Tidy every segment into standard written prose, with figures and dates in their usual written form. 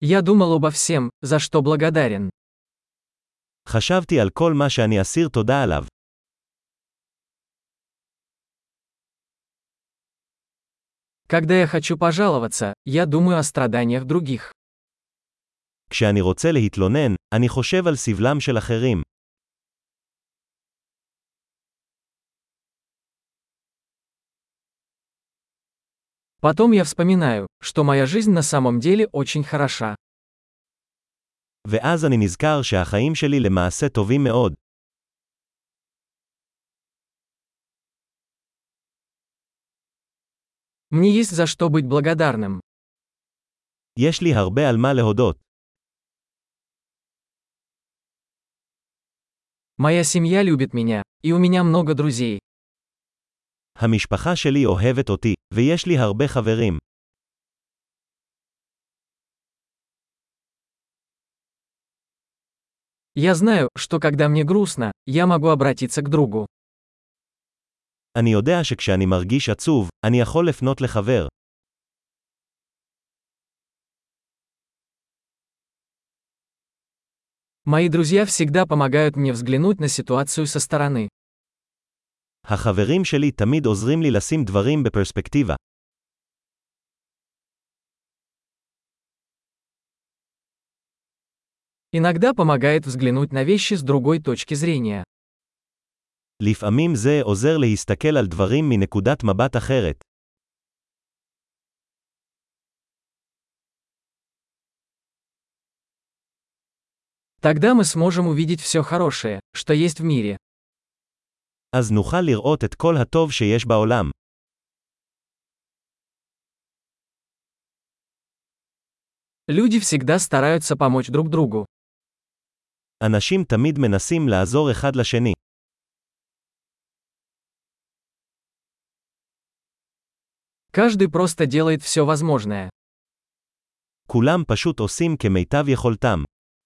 Я думал обо всем, за что благодарен. חשבתי על כל מה שאני אסיר תודה עליו. Когда я хочу пожаловаться, я думаю о страданиях других. כשאני רוצה להתלונן, אני חושב על סבלם של אחרים. Потом я вспоминаю, что моя жизнь на самом деле очень хороша. ואז אני נזכר שהחיים שלי למעשה טובים מאוד. Мне есть за что быть благодарным. יש לי הרבה על מה להודות. Моя семья любит меня, и у меня много друзей. המשפחה שלי אוהבת אותי, ויש לי הרבה חברים. Я знаю, что когда мне грустно, я могу обратиться к другу. אני יודע שכשאני מרגיש עצוב, אני יכול לפנות לחבר. Мои друзья всегда помогают мне взглянуть на ситуацию со стороны. החברים שלי תמיד עוזרים לי לשים דברים בפרספקטיבה. Иногда помогает взглянуть на вещи с другой точки зрения. לפעמים זה עוזר להסתכל על דברים מנקודת מבט אחרת. Тогда мы сможем увидеть все хорошее, что есть в мире. אז נוכל לראות את כל הטוב שיש בעולם. Люди всегда стараются помочь друг другу. אנשים תמיד מנסים לעזור אחד לשני. Каждый просто делает все возможное. כולם פשוט עושים כמיטב יכולתם.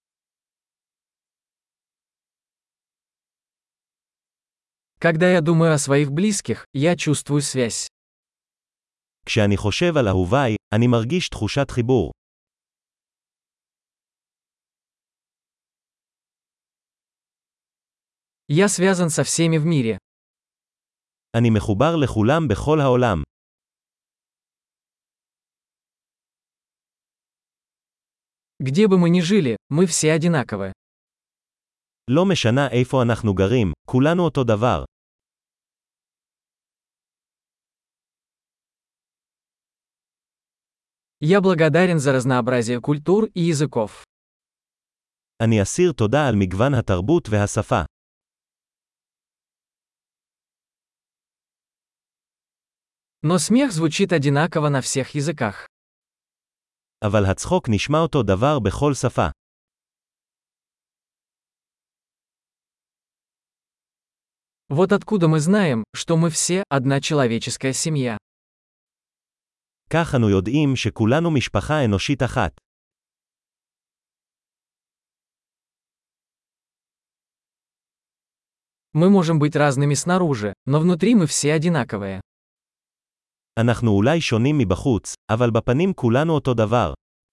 Когда я думаю о своих близких, я чувствую связь. כשאני חושב על אהוביי, אני מרגיש תחושת חיבור. Я связан со всеми в мире. אני מחובר לכולם בכל העולם. Где бы мы ни жили, мы все одинаковы. לא משנה איפה אנחנו גרים, כולנו אותו דבר. Я благодарен за разнообразие культур и языков. אני אסיר תודה על מגוון התרבות והשפה. Но смех звучит одинаково на всех языках. אבל הצחוק נשמע אותו דבר בכל שפה. Вот откуда мы знаем, что мы все одна человеческая семья. כך אנו יודעים שכולנו משפחה אנושית אחת. Мы можем быть разными снаружи, но внутри мы все одинаковые. אנחנו אולי שונים מבחוץ, אבל בפנים כולנו אותו דבר.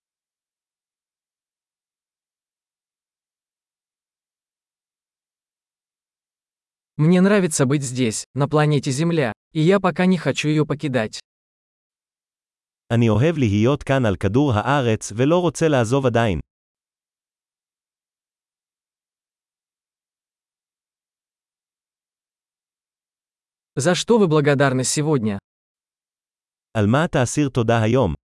Мне нравится быть здесь, на планете Земля, и я пока не хочу ее покидать. אני אוהב להיות כאן על כדור הארץ ולא רוצה לעזוב עדיין. За что вы благодарны сегодня? על מה אתה אסיר תודה היום?